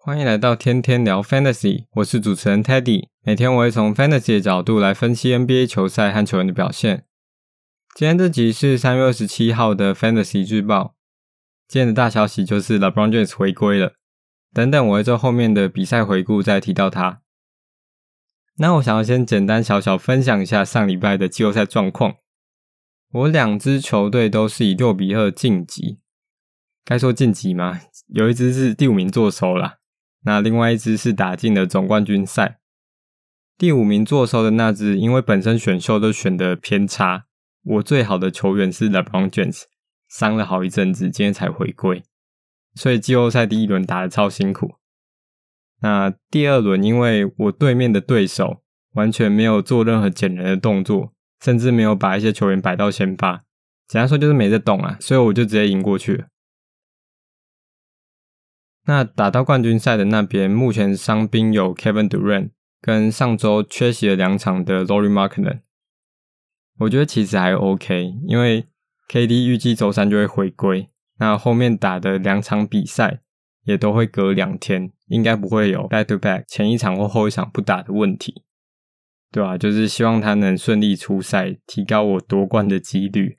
歡迎來到天天聊 Fantasy， 我是主持人 Teddy， 每天我會從 Fantasy 的角度來分析 NBA 球賽和球員的表現。今天這集是3月27號的 Fantasy 日報，今天的大消息就是 LeBron James 回歸了，等等我會在後面的比賽回顧再提到他。那我想要先簡單小小分享一下上禮拜的季後賽狀況。我兩支球隊都是以6-2晉級，該說晉級嗎？有一支是第5名坐收啦，那另外一支是打進了總冠軍賽。第5名坐收的那支，因為本身選秀都選得偏差，我最好的球員是 LeBron James， 傷了好一陣子，今天才回歸，所以季後賽第1輪打得超辛苦。那第2輪，因為我對面的對手完全沒有做任何撿人的動作，甚至沒有把一些球員擺到先發，簡單說就是沒在動啊，所以我就直接贏過去了。那打到冠軍賽的那邊，目前傷兵有 Kevin Durant 跟上周缺席了2場的 Lauri Markkanen。我覺得其實還 OK， 因為 KD 預計週3就會回歸，那後面打的2場比賽也都會隔2天，應該不會有 back to back 前一場或後一場不打的問題。對啊，就是希望他能順利出賽，提高我奪冠的幾率。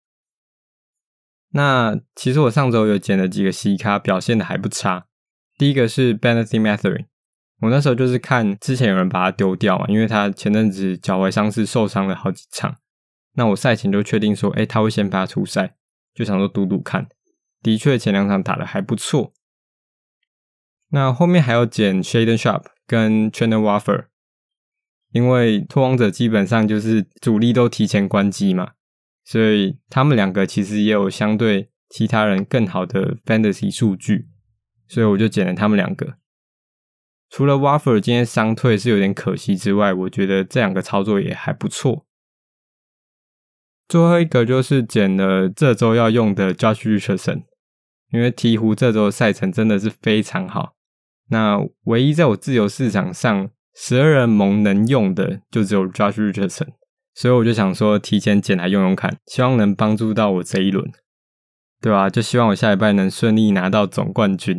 那其實我上周有撿了幾個西咖，表現的還不差。第一個是 Bennedict Mathurin， 我那時候就是看之前有人把他丟掉嘛，因為他前陣子腳踝傷勢受傷了好幾場。那我賽前就確定說，他會先發出賽，就想說賭賭看。的確前2場打得還不錯。那後面還有撿 Shaedon Sharpe 跟 Trendon Watford， 因為拓荒者基本上就是主力都提前關機嘛，所以他們2個其實也有相對其他人更好的 Fantasy 數據，所以我就撿了他們2個。除了 Watford 今天傷退是有點可惜之外，我覺得這2個操作也還不錯。最後一個就是撿了這周要用的 Josh Richardson， 因為鹈鶘這周的賽程真的是非常好。那唯一在我自由市場上12人盟能用的就只有 Josh Richardson， 所以我就想說提前撿來用用看，希望能幫助到我這一輪。對啊，就希望我下禮拜能順利拿到總冠軍。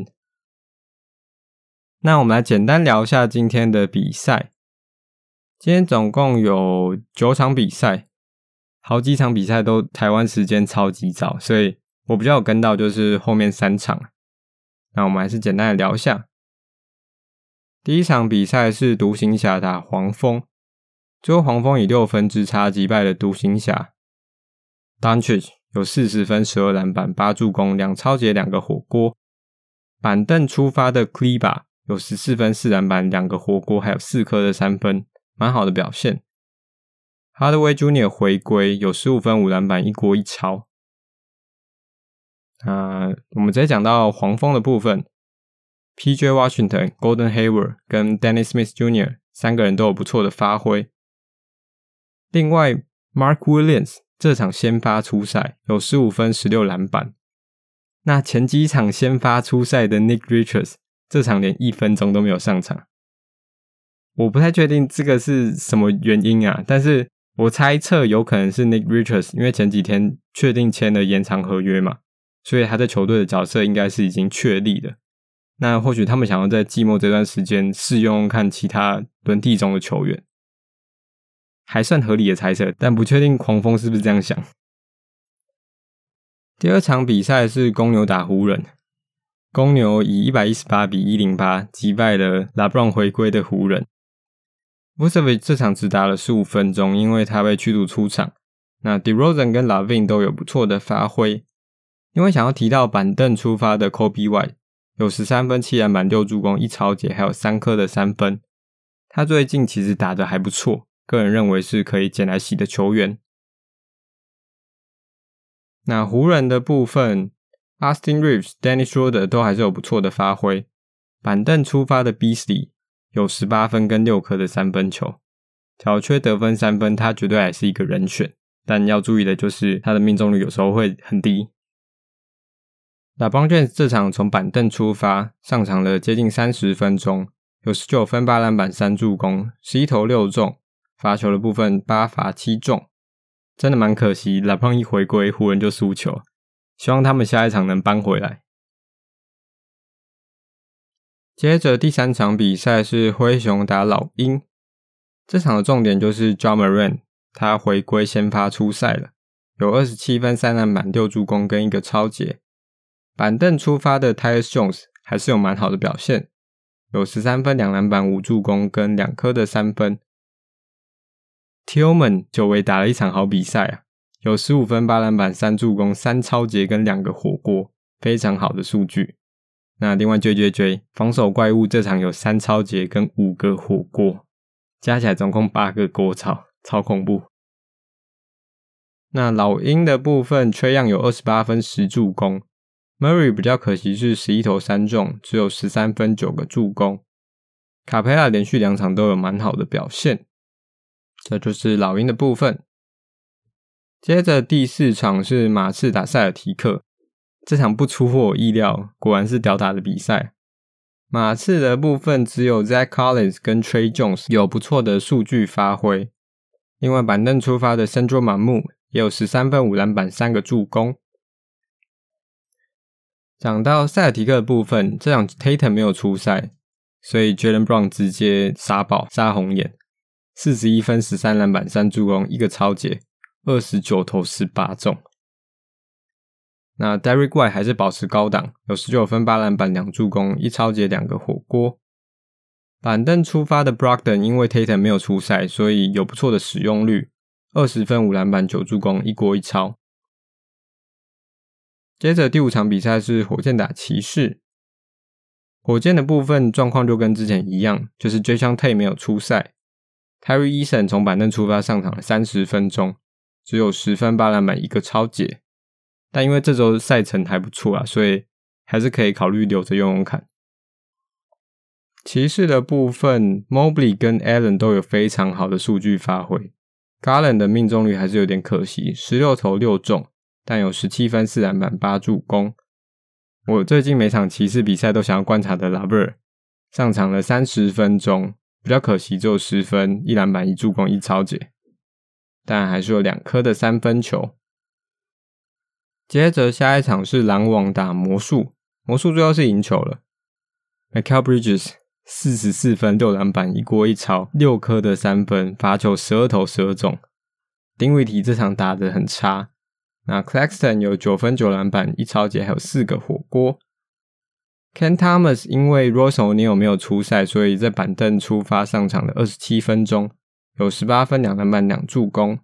那我們來簡單聊一下今天的比賽。今天總共有9場比賽，好幾場比賽都台灣時間超級早，所以我比較有跟到就是後面3場。那我們還是簡單的聊一下。第一場比賽是獨行俠打黃蜂，最後黃蜂以6分之差擊敗了獨行俠。Doncic 有40分、12籃板、8助攻、2抄截、2個火鍋。板凳出發的 Kleber 有14分、4籃板、2個火鍋，還有4顆的3分，蠻好的表現。Hardaway Jr. 回歸，有15分、5籃板、1鍋1抄。我們直接講到黃蜂的部分。PJ Washington、Gordon Hayward 跟 Dennis Smith Jr. 3個人都有不錯的發揮。另外 Mark Williams 這場先發出賽，有15分、16籃板。那前幾場先發出賽的 Nick Richards 這場連1分鐘都沒有上場。我不太確定這個是什麼原因啊，但是我猜測有可能是 Nick Richards 因為前幾天確定簽了延長合約嘛，所以他在球隊的角色應該是已經確立的。那或許他們想要在季末這段時間試用看其他輪替中的球員，還算合理的猜測，但不確定黃蜂是不是這樣想。第2場比賽是公牛打湖人，公牛以118-108擊敗了 LeBron 回歸的湖人。Vucevic 這場只打了15分鐘，因為他被驅逐出場。那 DeRozan 跟 LaVine 都有不錯的發揮。因為想要提到板凳出發的 Kobe White，有13分、7籃板、6助攻、1抄截，還有3顆的3分。他最近其實打得還不錯，個人認為是可以撿來洗的球員。那湖人的部分 ，Austin Reeves、Dennis Schroeder 都還是有不錯的發揮。板凳出發的 Beasley 有18分跟6顆的3分球，小缺得分3分，他絕對還是一個人選。但要注意的就是他的命中率有時候會很低。LeBron James 這場從板凳出發，上場了接近30分鐘，有19分、8籃板、3助攻，11投6中，罰球的部分8罰7中，真的蠻可惜。LeBron 一回歸，湖人就輸球，希望他們下一場能扳回來。 接着第3場比賽是灰熊打老鷹，這場的重點就是 Ja Morant 他回歸先發出賽了，有27分3籃板6助攻跟1個抄截。板凳出發的 Tyus Jones 還是有蠻好的表現，有13分2籃板5助攻跟2顆的3分。Tillman 久違打了一場好比賽啊，有15分8籃板3助攻3抄截跟2個火鍋，非常好的數據。那另外 JJJ 防守怪物這場有3抄截跟5個火鍋，加起來總共8個鍋抄，超恐怖。那老鷹的部分 Trae Young 有28分10助攻， Murray 比較可惜是11投3中，只有13分9個助攻。卡佩拉連續2場都有蠻好的表現。這就是老鷹的部分。接着第4場是馬刺打塞爾提克，這場不出乎我意料，果然是屌打的比賽。馬刺的部分只有 Zach Collins 跟 Tre Jones 有不錯的數據發揮，另外板凳出發的 Sandro Mamu 也有13分5籃板3個助攻。講到塞爾提克的部分，這場 Tatum 沒有出賽，所以 Jaylen Brown 直接殺爆殺紅眼，41分13籃板3助攻1個抄截，29投18中。那 Derrick White 還是保持高檔，有19分8籃板2助攻1抄截2個火鍋。板凳出發的 Brogdon 因為 Tatum 沒有出賽，所以有不錯的使用率，20分5籃板9助攻1鍋1抄。接着第5場比賽是火箭打騎士，火箭的部分狀況就跟之前一樣，就是 Jae'Sean Tate 沒有出賽， Tyrese Eason 從板凳出發上場了30分鐘，只有10分8籃板1個抄截。但因為這周賽程還不錯啊，所以還是可以考慮留着用用看。騎士的部分 Mobley 跟 Allen 都有非常好的數據發揮， Garland 的命中率還是有點可惜，16投6中，但有17分4籃板8助攻。我最近每場騎士比賽都想要觀察的 LeVert 上場了30分鐘，比較可惜只有10分1籃板1助攻1抄截，但還是有2顆的3分球。接着下一場是籃網打魔術，魔術最後是贏球了。Mikal Bridges 44分6籃板1鍋1抄6顆的3分，罰球12投12中。Dinwiddie 這場打得很差。那 Claxton 有9分9籃板1抄截還有4個火鍋。Cam Thomas 因為 Royce O'Neal 沒有出賽，所以在板凳出發上場了27分鐘，有18分2籃板2助攻。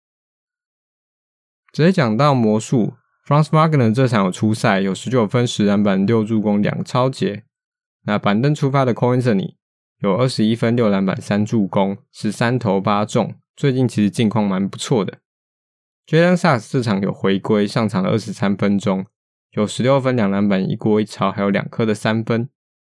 直接講到魔術，Franz Wagner 這場有出賽，有19分10籃板6助攻2抄截。那板凳出發的 Cole Anthony 有21分6籃板3助攻13投8中，最近其實近況蠻不錯的。Jalen Suggs 這場有回歸，上場了23分鐘，有16分2籃板1鍋1抄還有2顆的3分。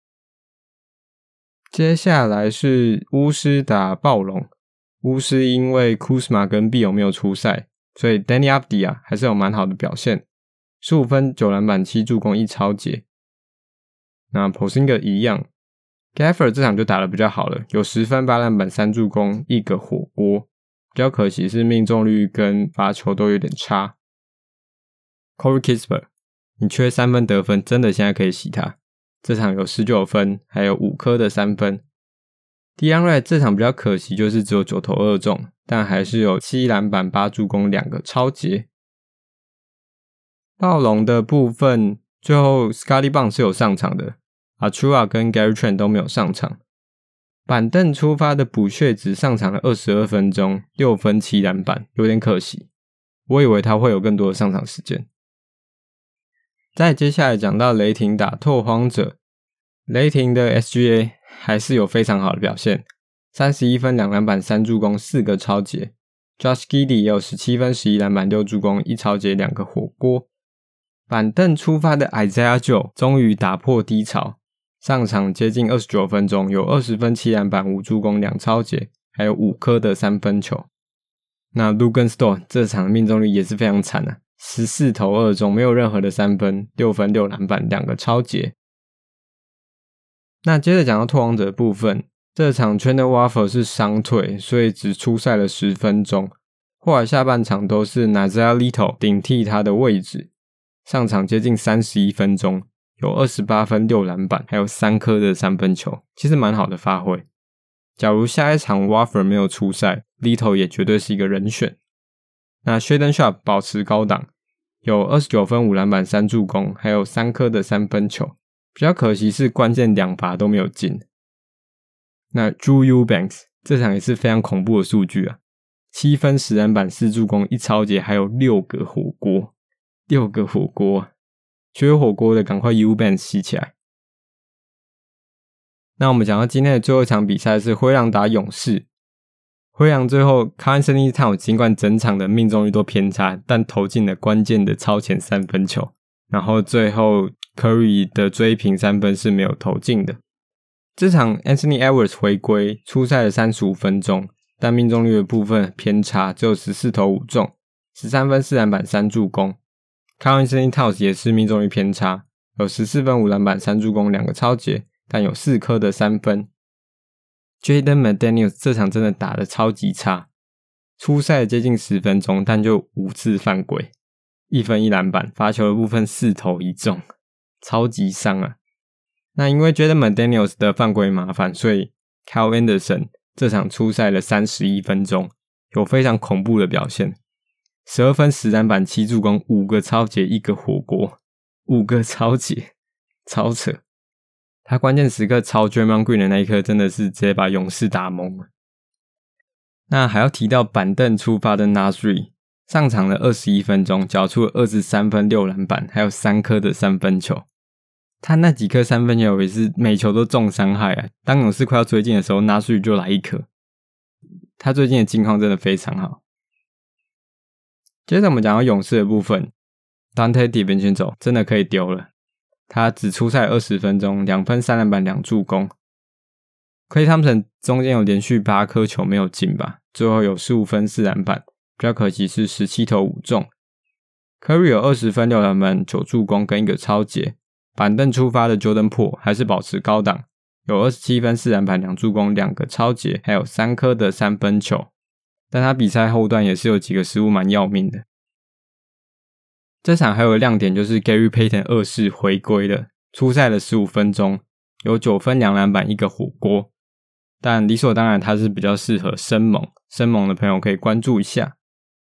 接下來是巫師打暴龍，巫師因為 Kuzma 跟 Beal 沒有出賽，所以 Danny Avdija 還是有蠻好的表現，15分9籃板7助攻1抄截。那 Porzingis 一樣 Gafford 這場就打得比較好了，有10分8籃板3助攻1個火鍋，比較可惜是命中率跟罰球都有點差。Corey Kispert 你缺3分得分，真的現在可以洗他，這場有19分還有5顆的3分。Delon Wright 這場比較可惜，就是只有9投2中，但還是有7籃板8助攻2個抄截。暴龍的部分最後 Scottie Barnes 是有上場的，Achua 跟 Gary Trent 都沒有上場。板凳出發的補血只上場了22分鐘，6分7籃板，有點可惜，我以為他會有更多的上場時間。再接下來講到雷霆打拓荒者，雷霆的 SGA 還是有非常好的表現，31分2籃板3助攻4個抄截。Josh Giddey 也有17分11籃板6助攻1抄截2個火鍋。板凳出發的 Isaiah Joe 終於打破低潮，上場接近29分鐘，有20分7籃板5助攻2抄截，還有5顆的3分球。那 Luguentz-Dort 這場命中率也是非常慘啊，14投2中，沒有任何的3分，6分6籃板2個抄截。那接着講到拓荒者的部分，這場 Trendon Watford 是傷退，所以只出賽了10分鐘，後來下半場都是 Nassir Little 頂替他的位置，上場接近31分鐘， 有28分6籃板，還有3顆的三分球，其實蠻好的發揮。假如下一場 Watford 沒有出賽 Little 也絕對是一個人選。那 Shaedon Sharpe 保持高檔，有29分5籃板3助攻，還有3顆的三分球，比較可惜是關鍵2罰都沒有進。那 Drew Eubanks 這場也是非常恐怖的數據啊，7分10籃板4助攻1抄截，還有6個火鍋，缺火鍋的趕快 Eubanks 洗起來。那我們講到今天的最後一場比賽是灰狼打勇士。灰狼最後 Karl-Anthony Towns 儘管整場的命中率都偏差，但投進了關鍵的超前三分球，然後最後 Curry 的追平三分是沒有投進的。這場 Anthony Edwards 回歸出賽了35分鐘，但命中率的部分偏差，只有14投5中，13分4籃板3助攻。Karl-Anthony Towns 也是命中率偏差，有14分5籃板3助攻2個抄截，但有4顆的三分。Jaden McDaniels 這場真的打得超級差，出賽接近10分鐘，但就5次犯規，1分1籃板，罰球的部分4投1中，超級傷啊。那因為 Jaden McDaniels 的犯規麻煩，所以 Kyle Anderson 這場出賽了31分鐘，有非常恐怖的表現，12分10籃板7助攻5個抄截1個火鍋，5個抄截，超扯。他關鍵時刻抄 Draymond Green 的那一顆真的是直接把勇士打懵了。那還要提到板凳出發的 Naz Reid， 上場了21分鐘，繳出了23分6籃板，還有3顆的三分球。他那幾顆三分球也是每球都重傷害啊！當勇士快要追進的時候 Naz Reid 就來一顆。他最近的近況真的非常好。接着我們講到勇士的部分， Donte DiVincenzo 真的可以丟了。他只出賽20分鐘，2分3籃板2助攻。Klay Thompson 中間有連續8顆球沒有進吧，最後有15分4籃板，比較可惜是17投5中。Curry 有20分6籃板9助攻跟1個抄截。板凳出發的 Jordan Poole 還是保持高檔，有27分4籃板2助攻2個抄截，還有3顆的三分球。但他比賽後段也是有幾個失誤蠻要命的。這場還有個亮點就是 Gary Payton 2世回歸了，出賽了15分鐘，有9分2籃板1個火鍋。但理所當然他是比較適合生猛的朋友可以關注一下。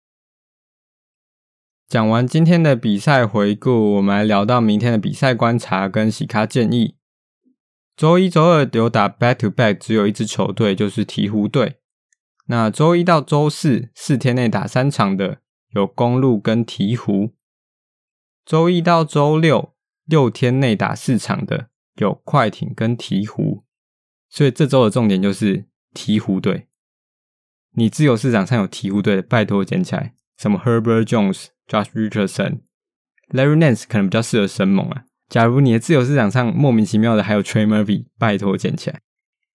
講完今天的比賽回顧，我們來聊到明天的比賽觀察跟洗咖建議。週一週二有打 back to back 只有一支球隊，就是鹈鶘隊。那週一到週四4天內打3場的有公鹿跟鹈鶘。週一到週六6天內打4場的有快艇跟鹈鶘。所以這週的重點就是鹈鶘隊。你自由市場上有鹈鶘隊的，拜託撿起來。什麼 Herbert Jones、Josh Richardson、Larry Nance 可能比較適合生猛啊。假如你的自由市場上莫名其妙的還有 Trey Murphy， 拜託撿起來。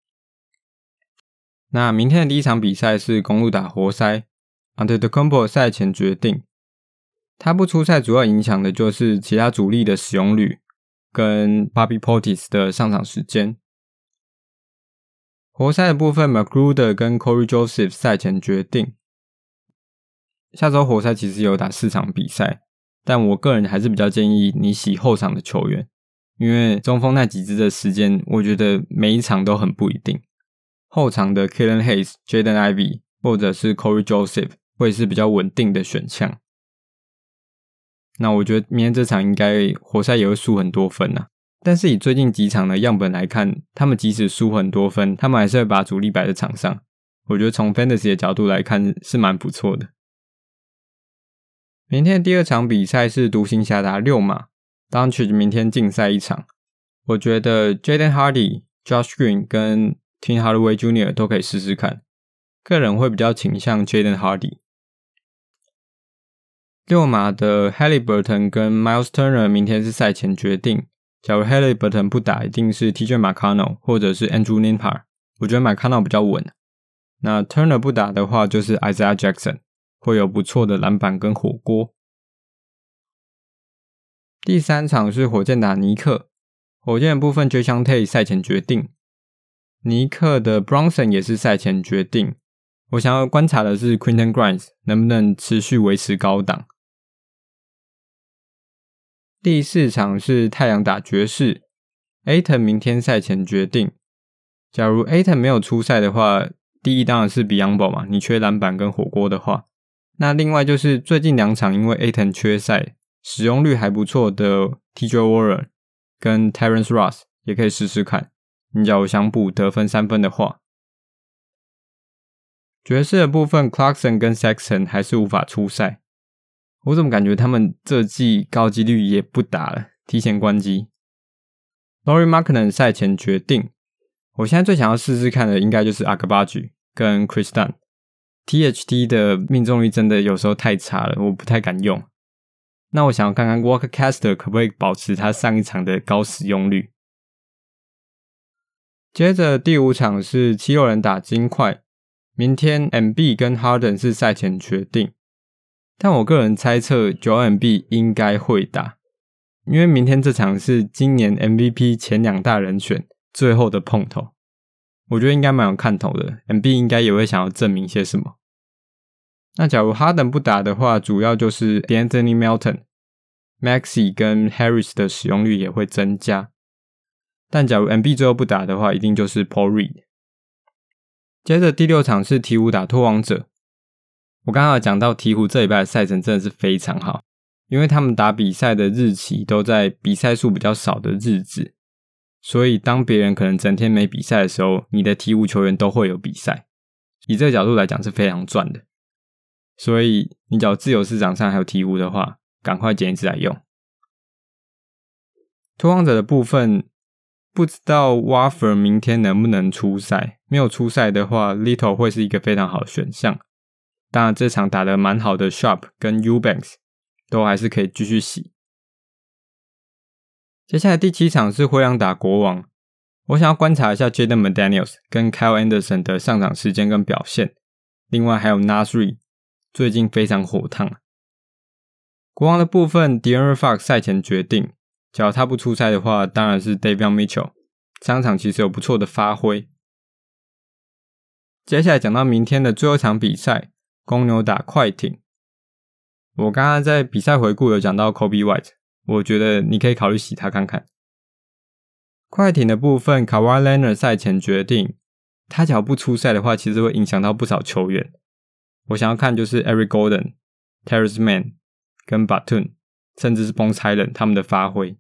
那明天的第一場比賽是公鹿打活塞 ，Antetokounmpo 賽前決定。他不出賽主要影響的就是其他主力的使用率跟 Bobby Portis 的上場時間。活塞的部分 McGruder 跟 Corey Joseph 賽前決定。下周活塞其實有打4場比賽，但我個人還是比較建議你洗後場的球員，因為中鋒那幾支的時間我覺得每一場都很不一定。後場的 Killian Hayes、Jaden Ivey 或者是 Corey Joseph 會是比較穩定的選項。那我覺得明天這場應該活塞也會輸很多分啊。但是以最近幾場的樣本來看，他們即使輸很多分，他們還是會把主力擺在場上。我覺得從 Fantasy 的角度來看是蠻不錯的。明天的第二場比賽是獨行俠打溜馬 Doncic 明天禁賽1場。我覺得 Jaden Hardy、Josh Green 跟 Tim Hardaway Jr. 都可以試試看。個人會比較傾向 Jaden Hardy。溜馬的 Haliburton 跟 Miles Turner 明天是賽前決定。假如 Haliburton 不打，一定是 TJ McConnell 或者是 Andrew Nembhard。我覺得 McConnell 比較穩。那 Turner 不打的話，就是 Isaiah Jackson， 會有不錯的籃板跟火鍋。第三場是火箭打尼克，火箭的部分 Jason Tate 賽前決定，尼克的 Bronson 也是賽前決定。我想要觀察的是 Quentin Grimes 能不能持續維持高檔。 第4場是太陽打爵士 ，Ayton 明天賽前決定。假如 Ayton 沒有出賽的話，第一當然是 Biyombo 嘛，你缺籃板跟火鍋的話。那另外就是最近2場因為 Ayton 缺賽，使用率還不錯的 TJ Warren 跟 Terrence Ross 也可以試試看。你假如想補得分3分的話。爵士的部分 Clarkson 跟 Sexton 還是無法出賽。我怎麼感覺他們這季高幾率也不打了，提前關機。Lauri Markkanen 賽前決定。我現在最想要試試看的應該就是 Agbaji 跟 Chris Dunn。THT 的命中率真的有時候太差了，我不太敢用。那我想要看看 Walker Kessler 可不可以保持他上一場的高使用率。接着第5場是七六人打金塊，明天 Embiid 跟 Harden 是賽前決定。但我個人猜測 Joel Embiid 應該會打，因為明天這場是今年 MVP 前2大人選最後的碰頭，我覺得應該蠻有看頭的。Embiid 應該也會想要證明些什麼。那假如 Harden 不打的話，主要就是 Anthony Melton、Maxey 跟 Harris 的使用率也會增加。但假如 Embiid 最後不打的話，一定就是 Paul Reed。接着第6場是鹈鶘打拓荒者。我剛剛有講到鹈鶘這禮拜的賽程真的是非常好，因為他們打比賽的日期都在比賽數比較少的日子，所以當別人可能整天沒比賽的時候，你的鹈鶘球員都會有比賽。以這個角度來講是非常賺的，所以你只要自由市場上還有鹈鶘的話，趕快撿一支來用。拓荒者的部分，不知道 Watford 明天能不能出賽，沒有出賽的話 Little 會是一個非常好的選項。當然這場打得蠻好的 Sharp 跟 Eubanks 都還是可以繼續洗。接下來第7場是灰狼打國王，我想要觀察一下 Jaden McDaniels 跟 Kyle Anderson 的上場時間跟表現，另外還有 Naz Reid 最近非常火燙。國王的部分 De'Aaron Fox 賽前決定，假如他不出賽的話，當然是 Davion Mitchell 上場其實有不錯的發揮。接下來講到明天的最後一場比賽，公牛打快艇。我剛剛在比賽回顧有講到 Kobe White， 我覺得你可以考慮洗他看看。快艇的部分 Kawhi Leonard 賽前決定，他假如不出賽的話，其實會影響到不少球員。我想要看就是 Eric Gordon、Terrence Mann 跟 Batum， 甚至是 Bones Hyland 他們的發揮。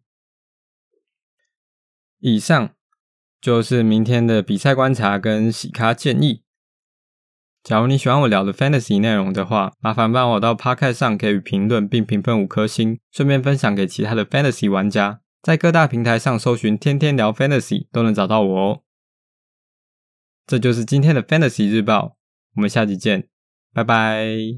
以上就是明天的比賽觀察跟洗咖建議。假如你喜歡我聊的 Fantasy 內容的話，麻煩幫我到 Podcast 上給予評論並評分5顆星，順便分享給其他的 Fantasy 玩家。在各大平台上搜尋天天聊 Fantasy 都能找到我哦。這就是今天的 Fantasy 日報，我們下集見，拜拜。